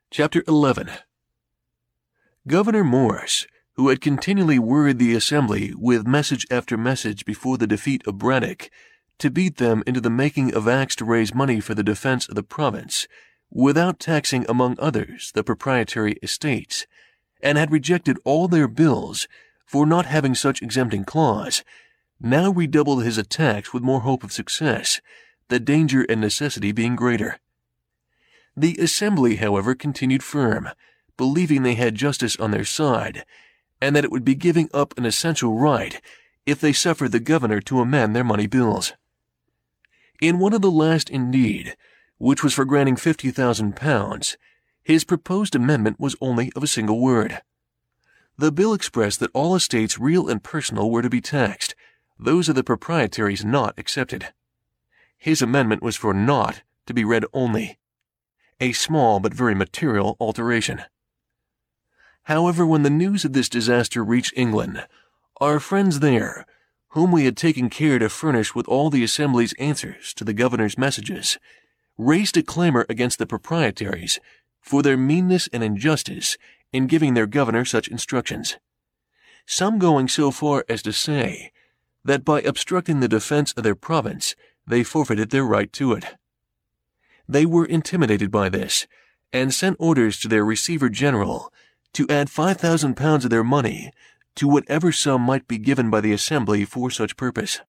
Chapter 11. Governor Morris, who had continually worried the Assembly with message after message before the defeat of Braddock, to beat them into the making of acts to raise money for the defense of the province, without taxing among others the proprietary estates, and had rejected all their bills for not having such exempting clause, now redoubled his attacks with more hope of success, the danger and necessity being greater. The Assembly, however, continued firm, believing they had justice on their side, and that it would be giving up an essential right if they suffered the governor to amend their money bills. In one of the last, indeed, which was for granting £50,000, his proposed amendment was only of a single word. The bill expressed that all estates, real and personal, were to be taxed, those of the proprietaries not excepted. His amendment was for not to be read only, a small but very material alteration. However, when the news of this disaster reached England, our friends there, whom we had taken care to furnish with all the Assembly's answers to the governor's messages, raised a clamor against the proprietaries for their meanness and injustice in giving their governor such instructions, some going so far as to say that by obstructing the defense of their province they forfeited their right to it. They were intimidated by this, and sent orders to their Receiver General to add £5,000 of their money to whatever sum might be given by the Assembly for such purpose.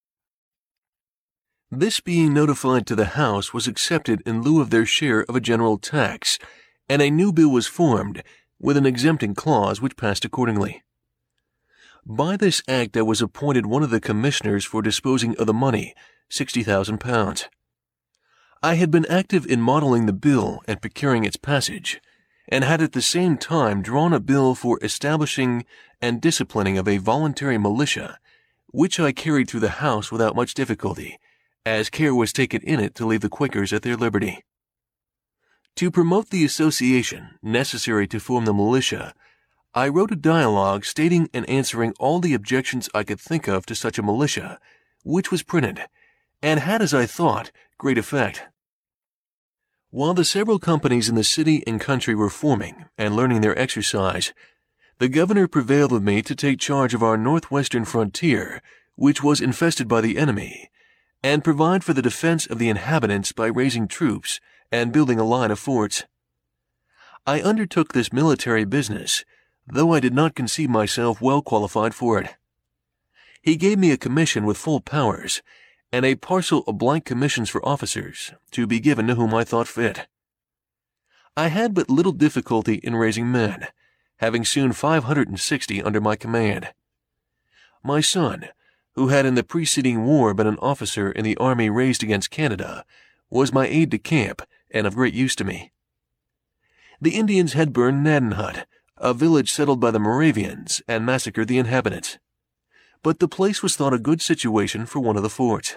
This being notified to the House was accepted in lieu of their share of a general tax, and a new bill was formed with an exempting clause which passed accordingly. By this act I was appointed one of the commissioners for disposing of the money, £60,000. I had been active in modeling the bill and procuring its passage, and had at the same time drawn a bill for establishing and disciplining of a voluntary militia, which I carried through the House without much difficulty, as care was taken in it to leave the Quakers at their liberty. To promote the association necessary to form the militia, I wrote a dialogue stating and answering all the objections I could think of to such a militia, which was printed, and had, as I thought, great effect. While the several companies in the city and country were forming and learning their exercise, the governor prevailed with me to take charge of our northwestern frontier, which was infested by the enemy, and provide for the defense of the inhabitants by raising troops and building a line of forts. I undertook this military business, though I did not conceive myself well qualified for it. He gave me a commission with full powers, and a parcel of blank commissions for officers, to be given to whom I thought fit. I had but little difficulty in raising men, having soon 560 under my command. My son, who had in the preceding war been an officer in the army raised against Canada, was my aide-de-camp and of great use to me. The Indians had burned Gnadenhut, a village settled by the Moravians, and massacred the inhabitants, but the place was thought a good situation for one of the forts.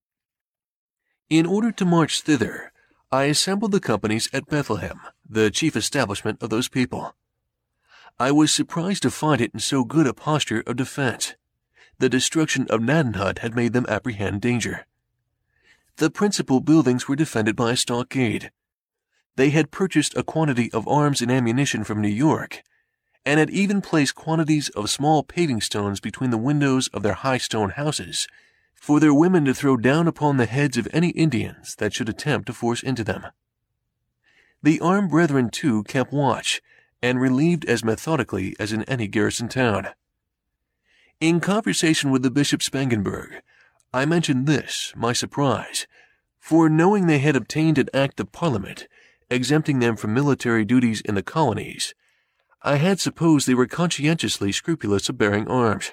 In order to march thither, I assembled the companies at Bethlehem, the chief establishment of those people. I was surprised to find it in so good a posture of defense. The destruction of Gnadenhut had made them apprehend danger. The principal buildings were defended by a stockade. They had purchased a quantity of arms and ammunition from New York, and had even placed quantities of small paving stones between the windows of their high stone houses, for their women to throw down upon the heads of any Indians that should attempt to force into them. The armed brethren, too, kept watch, and relieved as methodically as in any garrison town. In conversation with the Bishop Spangenberg, I mentioned this, my surprise, for knowing they had obtained an act of Parliament exempting them from military duties in the colonies, I had supposed they were conscientiously scrupulous of bearing arms.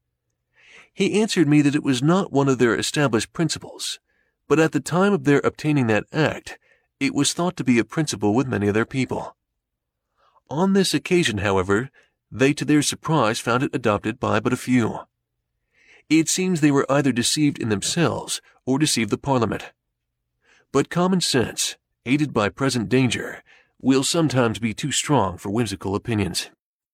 He answered me that it was not one of their established principles, but at the time of their obtaining that act, it was thought to be a principle with many of their people. On this occasion, however, they to their surprise found it adopted by but a few. It seems they were either deceived in themselves or deceived the Parliament. But common sense, aided by present danger, will sometimes be too strong for whimsical opinions.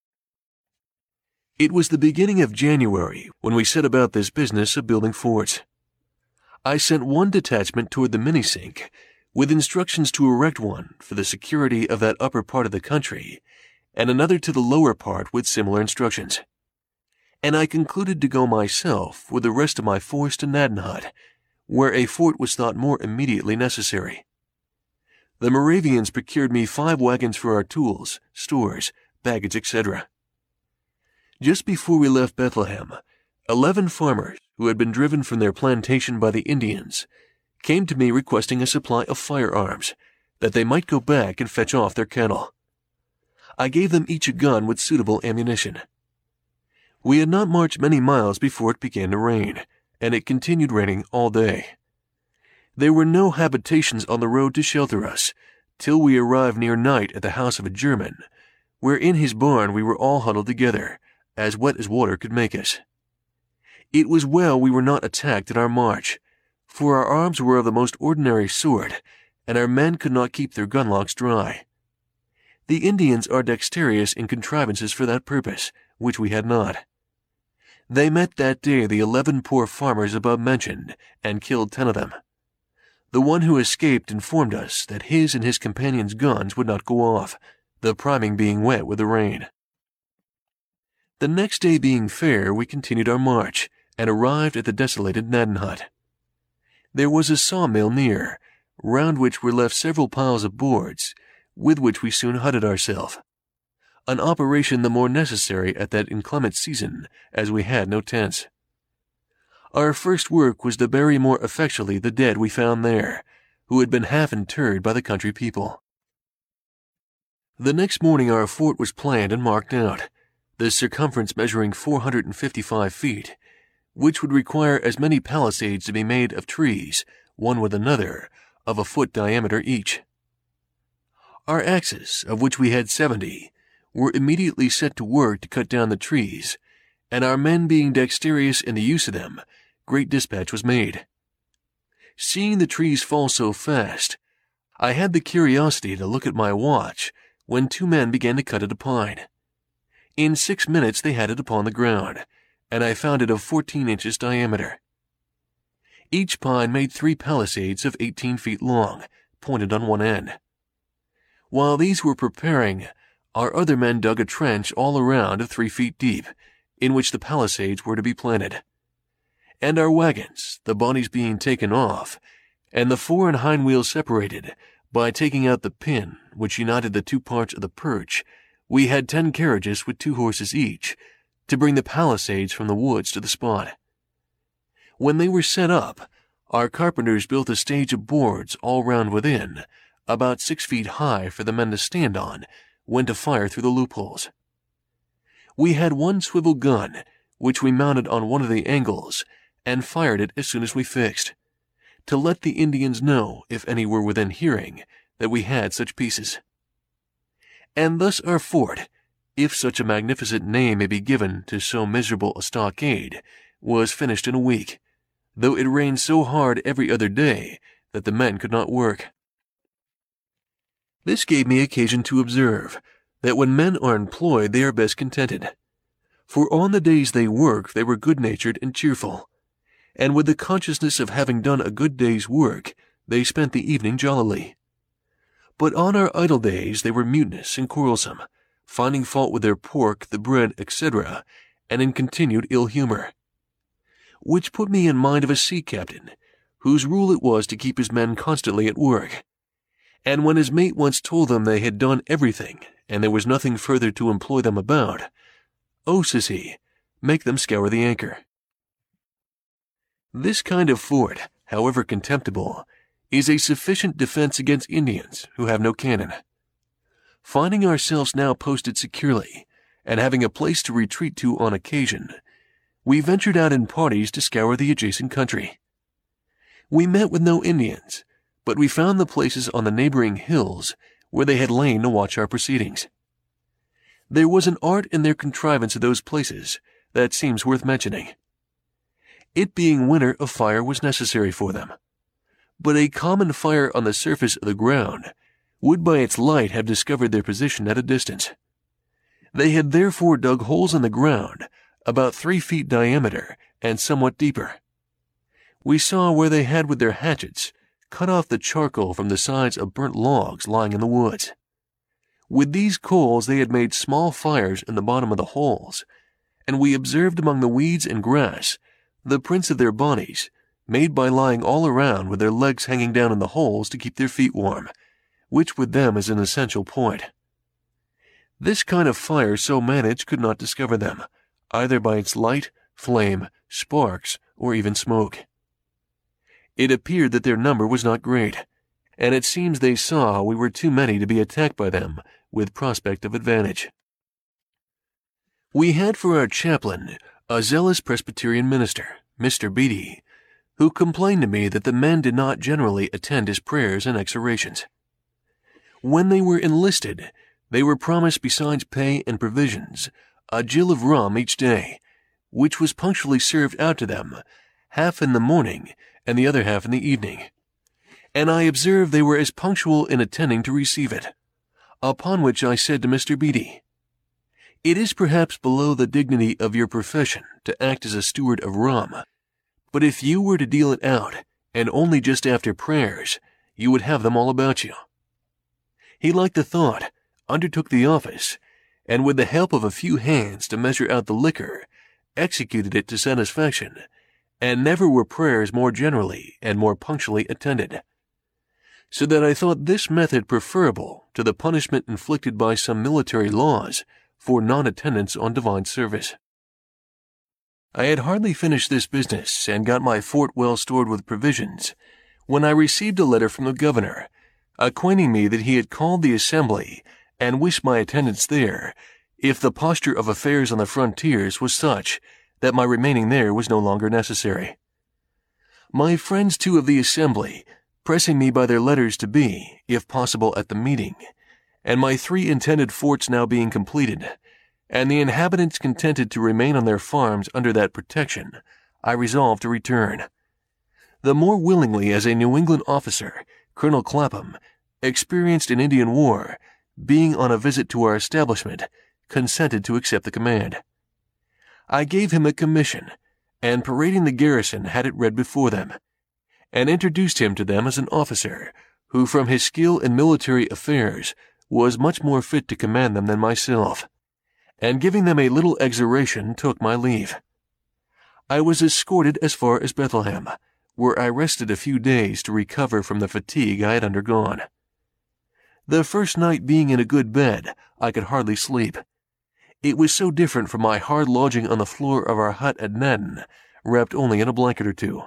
It was the beginning of January when we set about this business of building forts. I sent one detachment toward the Minisink, with instructions to erect one for the security of that upper part of the country, and another to the lower part with similar instructions. And I concluded to go myself with the rest of my force to Gnadenhut, where a fort was thought more immediately necessary. The Moravians procured me 5 wagons for our tools, stores, baggage, etc. Just before we left Bethlehem, 11 farmers who had been driven from their plantation by the Indians came to me requesting a supply of firearms, that they might go back and fetch off their cattle. I gave them each a gun with suitable ammunition. We had not marched many miles before it began to rain, and it continued raining all day. There were no habitations on the road to shelter us, till we arrived near night at the house of a German, where in his barn we were all huddled together, as wet as water could make us. It was well we were not attacked in our march, for our arms were of the most ordinary sort, and our men could not keep their gunlocks dry. The Indians are dexterous in contrivances for that purpose, which we had not. They met that day the 11 poor farmers above mentioned, and killed 10 of them. The one who escaped informed us that his and his companions' guns would not go off, the priming being wet with the rain. The next day being fair, we continued our march, and arrived at the desolated Gnadenhut. There was a sawmill near, round which were left several piles of boards, with which we soon hutted ourselves, an operation the more necessary at that inclement season, as we had no tents. Our first work was to bury more effectually the dead we found there, who had been half interred by the country people. The next morning our fort was planned and marked out, the circumference measuring 455 feet, which would require as many palisades to be made of trees, one with another, of a foot diameter each. Our axes, of which we had 70, were immediately set to work to cut down the trees, and our men being dexterous in the use of them, great dispatch was made. Seeing the trees fall so fast, I had the curiosity to look at my watch when 2 men began to cut at a pine. In 6 minutes they had it upon the ground, and I found it of 14 inches diameter. Each pine made 3 palisades of 18 feet long, pointed on one end. While these were preparing, our other men dug a trench all around of 3 feet deep, in which the palisades were to be planted. And our wagons, the bodies being taken off, and the fore and hind wheels separated, by taking out the pin which united the 2 parts of the perch, we had 10 carriages with 2 horses each, to bring the palisades from the woods to the spot. When they were set up, our carpenters built a stage of boards all round within, about 6 feet high for the men to stand on, when to fire through the loopholes. We had 1 swivel gun, which we mounted on one of the angles, and fired it as soon as we fixed, to let the Indians know, if any were within hearing, that we had such pieces. And thus our fort, if such a magnificent name may be given to so miserable a stockade, was finished in a week, though it rained so hard every other day that the men could not work. This gave me occasion to observe that when men are employed they are best contented, for on the days they work they were good-natured and cheerful, and with the consciousness of having done a good day's work they spent the evening jollily. But on our idle days they were mutinous and quarrelsome, finding fault with their pork, the bread, etc., and in continued ill humor. Which put me in mind of a sea captain, whose rule it was to keep his men constantly at work, and when his mate once told them they had done everything, and there was nothing further to employ them about, "Oh," says he, "make them scour the anchor." This kind of fort, however contemptible, is a sufficient defense against Indians who have no cannon. Finding ourselves now posted securely, and having a place to retreat to on occasion, we ventured out in parties to scour the adjacent country. We met with no Indians, but we found the places on the neighboring hills where they had lain to watch our proceedings. There was an art in their contrivance of those places that seems worth mentioning. It being winter, a fire was necessary for them, but a common fire on the surface of the ground would by its light have discovered their position at a distance. They had therefore dug holes in the ground about 3 feet diameter and somewhat deeper. We saw where they had with their hatchets cut off the charcoal from the sides of burnt logs lying in the woods. With these coals they had made small fires in the bottom of the holes, and we observed among the weeds and grass the prints of their bodies, made by lying all around with their legs hanging down in the holes to keep their feet warm, which with them is an essential point. This kind of fire so managed could not discover them, either by its light, flame, sparks, or even smoke. It appeared that their number was not great, and it seems they saw we were too many to be attacked by them with prospect of advantage. We had for our chaplain a zealous Presbyterian minister, Mr. Beatty, who complained to me that the men did not generally attend his prayers and exhortations. When they were enlisted, they were promised, besides pay and provisions, a gill of rum each day, which was punctually served out to them, half in the morning and the other half in the evening. And I observed they were as punctual in attending to receive it. Upon which I said to Mr. Beatty, "It is perhaps below the dignity of your profession to act as a steward of rum, but if you were to deal it out, and only just after prayers, you would have them all about you." He liked the thought, undertook the office, and with the help of a few hands to measure out the liquor, executed it to satisfaction, and never were prayers more generally and more punctually attended. So that I thought this method preferable to the punishment inflicted by some military laws for non-attendance on divine service. I had hardly finished this business and got my fort well stored with provisions, when I received a letter from the governor, acquainting me that he had called the assembly and wished my attendance there, if the posture of affairs on the frontiers was such that my remaining there was no longer necessary. My friends too of the assembly, pressing me by their letters to be, if possible, at the meeting, and my 3 intended forts now being completed, and the inhabitants contented to remain on their farms under that protection, I resolved to return. The more willingly as a New England officer, Colonel Clapham, experienced in Indian war, being on a visit to our establishment, consented to accept the command. I gave him a commission, and parading the garrison had it read before them, and introduced him to them as an officer, who from his skill in military affairs was much more fit to command them than myself, and giving them a little exhortation took my leave. I was escorted as far as Bethlehem, where I rested a few days to recover from the fatigue I had undergone. The first night being in a good bed, I could hardly sleep. It was so different from my hard lodging on the floor of our hut at Naddon, wrapped only in a blanket or two.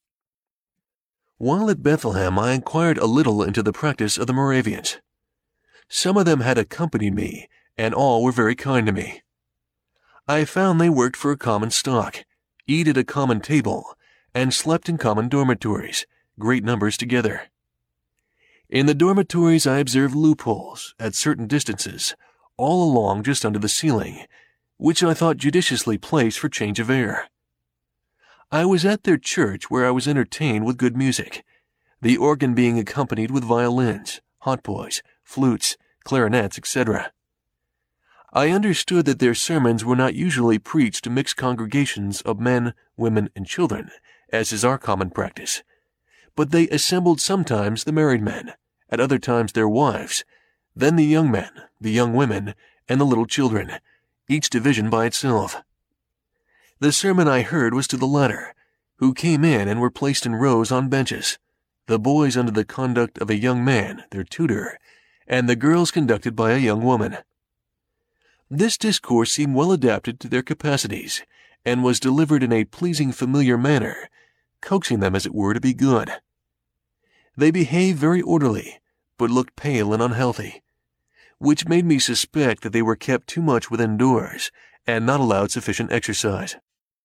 While at Bethlehem, I inquired a little into the practice of the Moravians. Some of them had accompanied me, and all were very kind to me. I found they worked for a common stock, eat at a common table, and slept in common dormitories, great numbers together. In the dormitories I observed loopholes, at certain distances, all along just under the ceiling, which I thought judiciously placed for change of air. I was at their church where I was entertained with good music, the organ being accompanied with violins, hautboys, flutes, clarinets, etc. I understood that their sermons were not usually preached to mixed congregations of men, women, and children, as is our common practice, but they assembled sometimes the married men, at other times their wives, then the young men, the young women, and the little children, each division by itself. The sermon I heard was to the latter, who came in and were placed in rows on benches, the boys under the conduct of a young man, their tutor, and the girls conducted by a young woman. This discourse seemed well adapted to their capacities, and was delivered in a pleasing familiar manner, coaxing them, as it were, to be good. They behaved very orderly, but looked pale and unhealthy, which made me suspect that they were kept too much within doors, and not allowed sufficient exercise.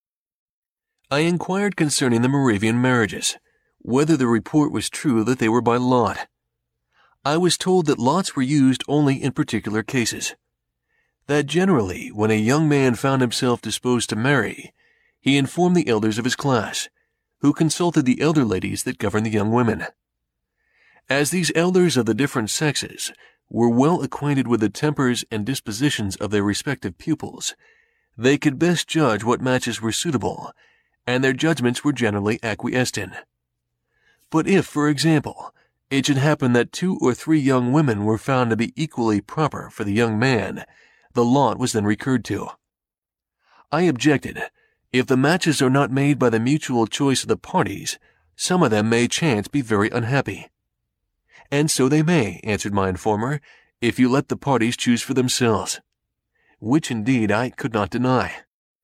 I inquired concerning the Moravian marriages, whether the report was true that they were by lot. I was told that lots were used only in particular cases, that generally, when a young man found himself disposed to marry, he informed the elders of his class, who consulted the elder ladies that governed the young women. As these elders of the different sexes were well acquainted with the tempers and dispositions of their respective pupils, they could best judge what matches were suitable, and their judgments were generally acquiesced in. But if, for example, it should happen that 2 or 3 young women were found to be equally proper for the young man, the lot was then recurred to. I objected. If the matches are not made by the mutual choice of the parties, some of them may chance be very unhappy. And so they may, answered my informer, if you let the parties choose for themselves. Which indeed I could not deny.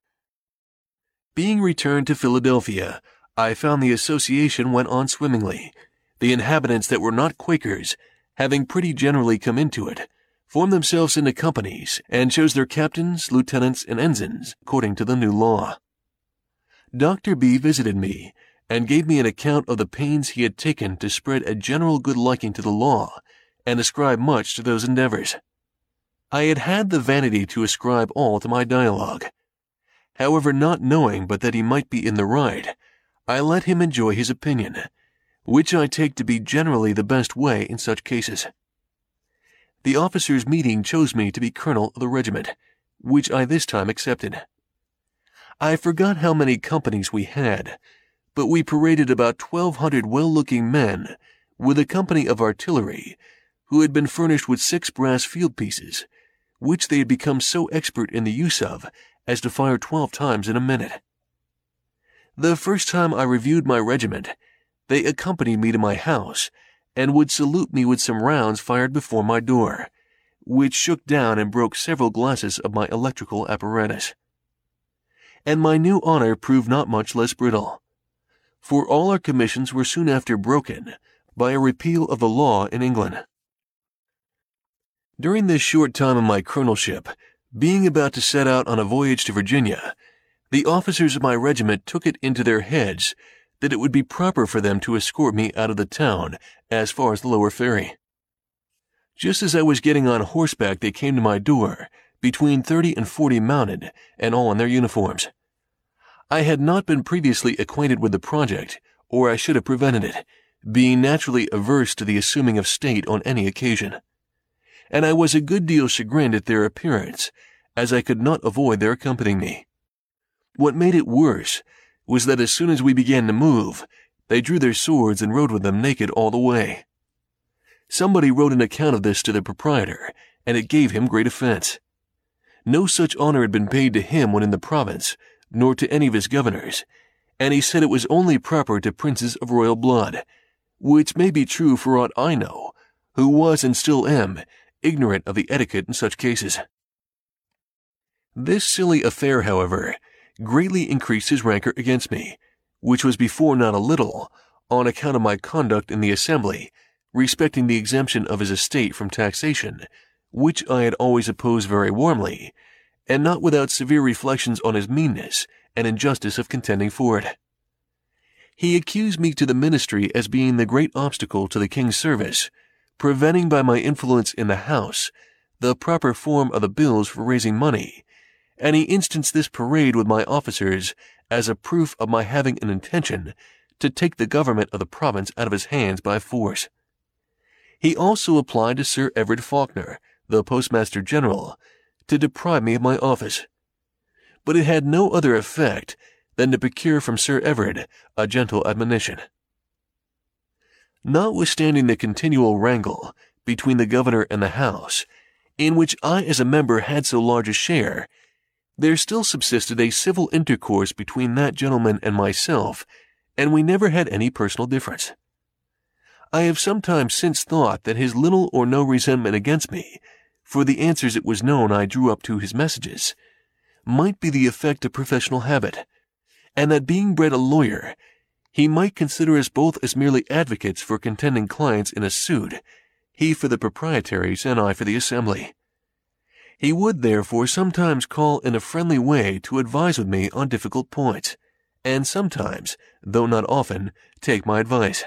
Being returned to Philadelphia, I found the association went on swimmingly. The inhabitants that were not Quakers, having pretty generally come into it, formed themselves into companies and chose their captains, lieutenants, and ensigns according to the new law. Dr. B. visited me and gave me an account of the pains he had taken to spread a general good liking to the law and ascribe much to those endeavors. I had had the vanity to ascribe all to my dialogue. However, not knowing but that he might be in the right, I let him enjoy his opinion, which I take to be generally the best way in such cases. The officers' meeting chose me to be colonel of the regiment, which I this time accepted. I forgot how many companies we had, but we paraded about 1,200 well-looking men with a company of artillery who had been furnished with 6 brass field pieces, which they had become so expert in the use of as to fire 12 times in a minute. The first time I reviewed my regiment, they accompanied me to my house and would salute me with some rounds fired before my door, which shook down and broke several glasses of my electrical apparatus. And my new honor proved not much less brittle, for all our commissions were soon after broken by a repeal of the law in England. During this short time of my colonelship, being about to set out on a voyage to Virginia, the officers of my regiment took it into their heads that it would be proper for them to escort me out of the town as far as the lower ferry. Just as I was getting on horseback, they came to my door, between 30 and 40 mounted, and all in their uniforms. I had not been previously acquainted with the project, or I should have prevented it, being naturally averse to the assuming of state on any occasion. And I was a good deal chagrined at their appearance, as I could not avoid their accompanying me. What made it worse was that as soon as we began to move, they drew their swords and rode with them naked all the way. Somebody wrote an account of this to the proprietor, and it gave him great offense. No such honor had been paid to him when in the province, nor to any of his governors, and he said it was only proper to princes of royal blood, which may be true for aught I know, who was and still am ignorant of the etiquette in such cases. This silly affair, however, greatly increased his rancor against me, which was before not a little, on account of my conduct in the assembly respecting the exemption of his estate from taxation, which I had always opposed very warmly, and not without severe reflections on his meanness and injustice of contending for it. He accused me to the ministry as being the great obstacle to the king's service, preventing by my influence in the House the proper form of the bills for raising money, and he instanced this parade with my officers as a proof of my having an intention to take the government of the province out of his hands by force. He also applied to Sir Everard Faulkner, the Postmaster General, to deprive me of my office. But it had no other effect than to procure from Sir Everard a gentle admonition. Notwithstanding the continual wrangle between the governor and the House, in which I as a member had so large a share, there still subsisted a civil intercourse between that gentleman and myself, and we never had any personal difference. I have sometimes since thought that his little or no resentment against me, for the answers it was known I drew up to his messages, might be the effect of professional habit, and that being bred a lawyer, he might consider us both as merely advocates for contending clients in a suit, he for the proprietaries and I for the assembly. He would therefore sometimes call in a friendly way to advise with me on difficult points, and sometimes, though not often, take my advice.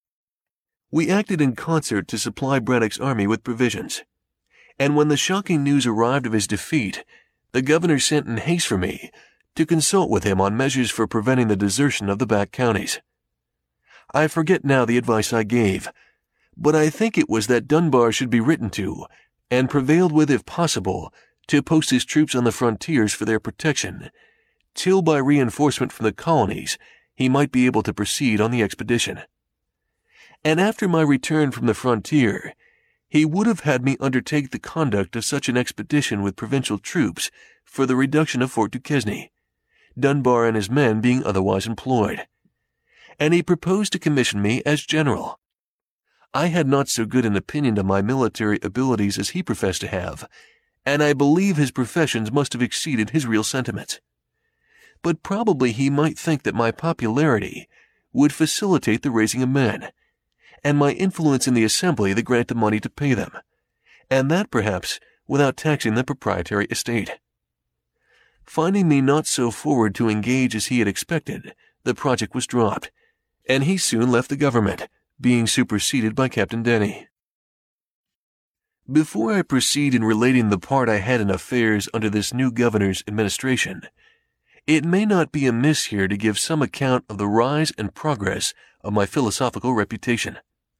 We acted in concert to supply Braddock's army with provisions, and when the shocking news arrived of his defeat, the governor sent in haste for me to consult with him on measures for preventing the desertion of the back counties. I forget now the advice I gave, but I think it was that Dunbar should be written to, and prevailed with, if possible, to post his troops on the frontiers for their protection, till by reinforcement from the colonies he might be able to proceed on the expedition. and after my return from the frontier, he would have had me undertake the conduct of such an expedition with provincial troops for the reduction of Fort Duquesne, Dunbar and his men being otherwise employed, and he proposed to commission me as general. I had not so good an opinion of my military abilities as he professed to have, and I believe his professions must have exceeded his real sentiments. But probably he might think that my popularity would facilitate the raising of men, and my influence in the assembly the grant of money to pay them, and that perhaps without taxing the proprietary estate. Finding me not so forward to engage as he had expected, the project was dropped, and he soon left the government, being superseded by Captain Denny. Before I proceed in relating the part I had in affairs under this new governor's administration, it may not be amiss here to give some account of the rise and progress of my philosophical reputation.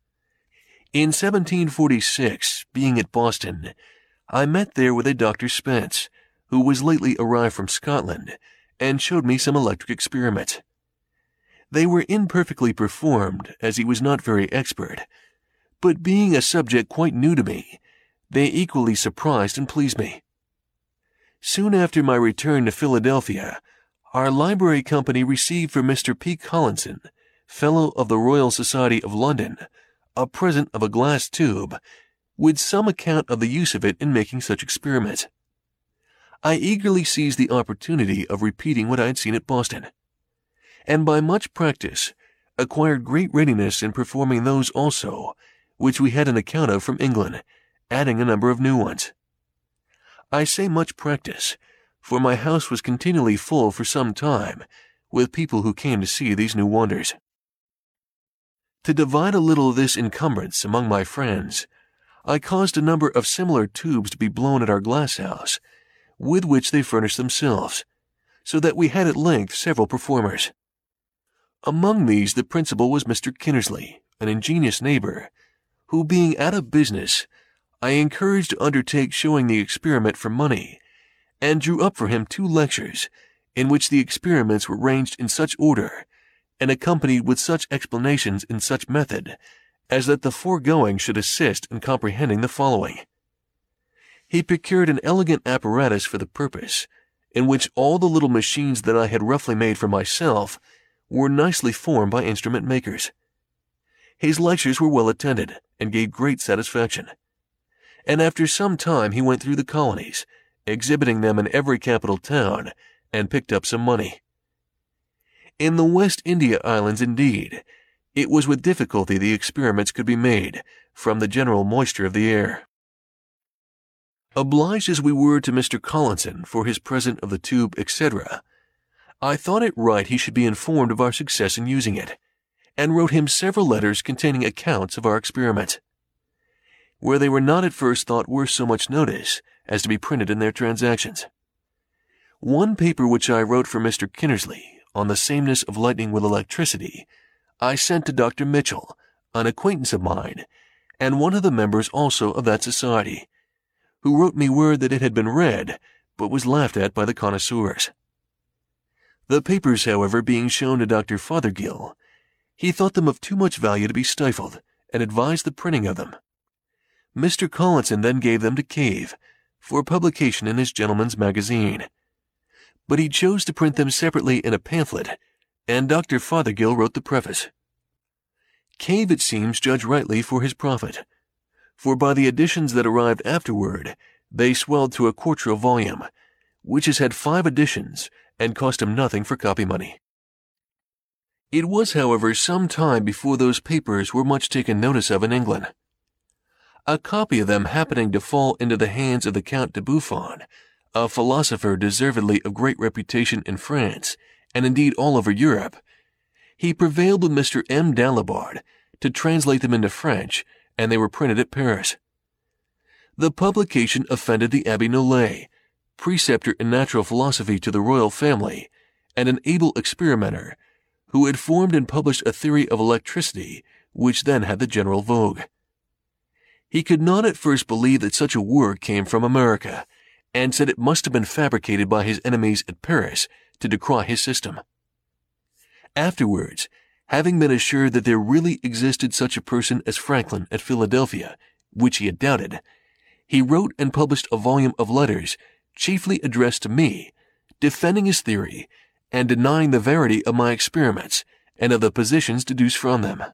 In 1746, being at Boston, I met there with a Dr. Spence, who was lately arrived from Scotland, and showed me some electric experiments. They were imperfectly performed, as he was not very expert, but being a subject quite new to me, they equally surprised and pleased me. Soon after my return to Philadelphia, our library company received from Mr. P. Collinson, Fellow of the Royal Society of London, a present of a glass tube, with some account of the use of it in making such experiments. I eagerly seized the opportunity of repeating what I had seen at Boston, and by much practice acquired great readiness in performing those also which we had an account of from England, adding a number of new ones. I say much practice, for my house was continually full for some time with people who came to see these new wonders. To divide a little of this encumbrance among my friends, I caused a number of similar tubes to be blown at our glass house, with which they furnished themselves, so that we had at length several performers. Among these the principal was Mr. Kinnersley, an ingenious neighbor, who being out of business, I encouraged to undertake showing the experiment for money, and drew up for him 2 lectures, in which the experiments were ranged in such order, and accompanied with such explanations in such method, as that the foregoing should assist in comprehending the following. He procured an elegant apparatus for the purpose, in which all the little machines that I had roughly made for myself were nicely formed by instrument makers. His lectures were well attended, and gave great satisfaction, and after some time he went through the colonies, exhibiting them in every capital town, and picked up some money. In the West India Islands, indeed, it was with difficulty the experiments could be made, from the general moisture of the air. Obliged as we were to Mr. Collinson for his present of the tube, etc., I thought it right he should be informed of our success in using it, and wrote him several letters containing accounts of our experiments, where they were not at first thought worth so much notice as to be printed in their transactions. One paper which I wrote for Mr. Kinnersley on the sameness of lightning with electricity, I sent to Dr. Mitchell, an acquaintance of mine, and one of the members also of that society, who wrote me word that it had been read, but was laughed at by the connoisseurs. The papers, however, being shown to Dr. Fothergill, he thought them of too much value to be stifled, and advised the printing of them. Mr. Collinson then gave them to Cave, for publication in his Gentleman's Magazine, but he chose to print them separately in a pamphlet, and Dr. Fothergill wrote the preface. Cave, it seems, judged rightly for his profit, for by the editions that arrived afterward, they swelled to a 1/4 volume, which has had 5 editions, and cost him nothing for copy money. It was, however, some time before those papers were much taken notice of in England. A copy of them happening to fall into the hands of the Count de Buffon, a philosopher deservedly of great reputation in France, and indeed all over Europe, he prevailed with Mr. M. Dalibard to translate them into French, and they were printed at Paris. The publication offended the Abbé Nollet, preceptor in natural philosophy to the royal family, and an able experimenter, who had formed and published a theory of electricity which then had the general vogue. He could not at first believe that such a work came from America, and said it must have been fabricated by his enemies at Paris to decry his system. Afterwards, Having been assured that there really existed such a person as Franklin at Philadelphia, which he had doubted, he wrote and published a volume of letters chiefly addressed to me, defending his theory and denying the verity of my experiments and of the positions deduced from them.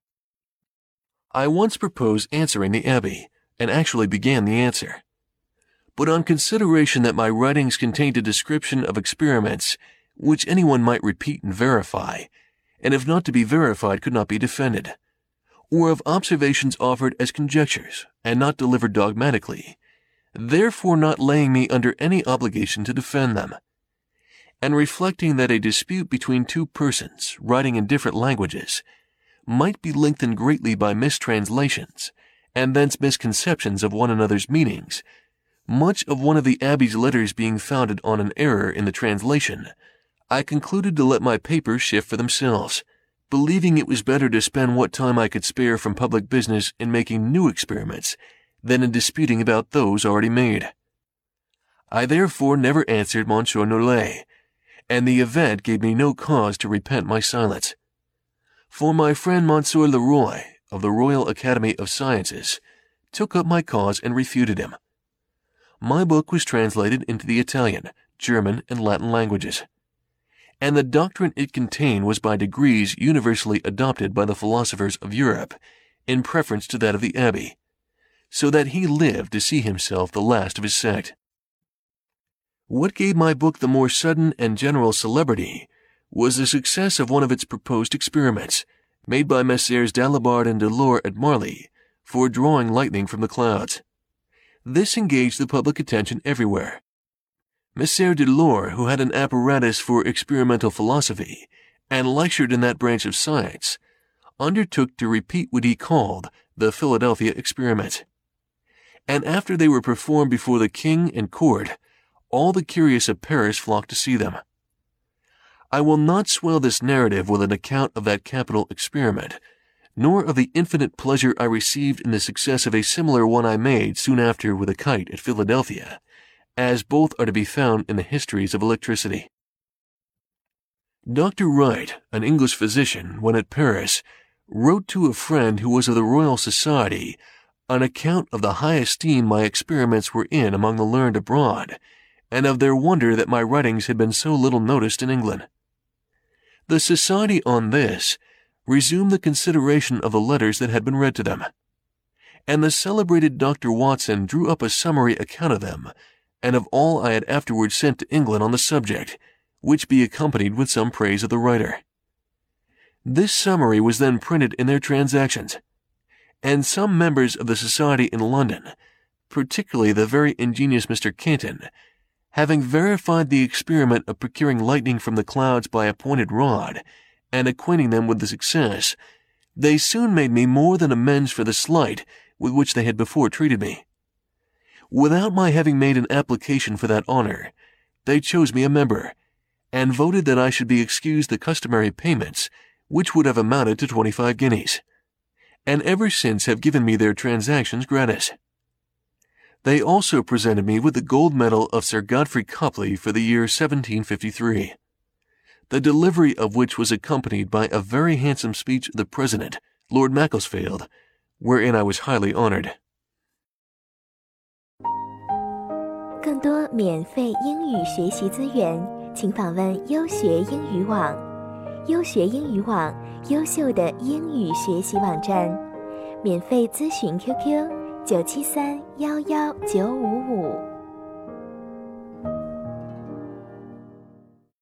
I once proposed answering the Abbé, and actually began the answer. But on consideration that my writings contained a description of experiments which anyone might repeat and verify, and if not to be verified could not be defended, or of observations offered as conjectures and not delivered dogmatically, therefore not laying me under any obligation to defend them, and reflecting that a dispute between two persons writing in different languages might be lengthened greatly by mistranslations and thence misconceptions of one another's meanings, much of one of the Abbé's letters being founded on an error in the translation, I concluded to let my papers shift for themselves, believing it was better to spend what time I could spare from public business in making new experiments than in disputing about those already made. I therefore never answered Monsieur Nollet, and the event gave me no cause to repent my silence. For my friend Monsieur Leroy, of the Royal Academy of Sciences, took up my cause and refuted him. My book was translated into the Italian, German, and Latin languages, and the doctrine it contained was by degrees universally adopted by the philosophers of Europe in preference to that of the Abbé, so that he lived to see himself the last of his sect. What gave my book the more sudden and general celebrity was the success of one of its proposed experiments, made by Messrs. Dalibard and Delort at Marly, for drawing lightning from the clouds. This engaged the public attention everywhere. Monsieur Delort, who had an apparatus for experimental philosophy, and lectured in that branch of science, undertook to repeat what he called the Philadelphia experiment. And after they were performed before the king and court, all the curious of Paris flocked to see them. I will not swell this narrative with an account of that capital experiment, nor of the infinite pleasure I received in the success of a similar one I made soon after with a kite at Philadelphia, as both are to be found in the histories of electricity. Dr. Wright, an English physician, when at Paris, wrote to a friend who was of the Royal Society an account of the high esteem my experiments were in among the learned abroad, and of their wonder that my writings had been so little noticed in England. The Society on this resumed the consideration of the letters that had been read to them, and the celebrated Dr. Watson drew up a summary account of them, and of all I had afterwards sent to England on the subject, which be accompanied with some praise of the writer. This summary was then printed in their Transactions, and some members of the Society in London, particularly the very ingenious Mr. Canton, having verified the experiment of procuring lightning from the clouds by a pointed rod, and acquainting them with the success, they soon made me more than amends for the slight with which they had before treated me. Without my having made an application for that honor, they chose me a member, and voted that I should be excused the customary payments, which would have amounted to 25 guineas, and ever since have given me their Transactions gratis. They also presented me with the gold medal of Sir Godfrey Copley for the year 1753, the delivery of which was accompanied by a very handsome speech of the President, Lord Macclesfield, wherein I was highly honored. 更多免费英语学习资源，请访问优学英语网。优学英语网，优秀的英语学习网站。免费咨询 QQ：973-11955。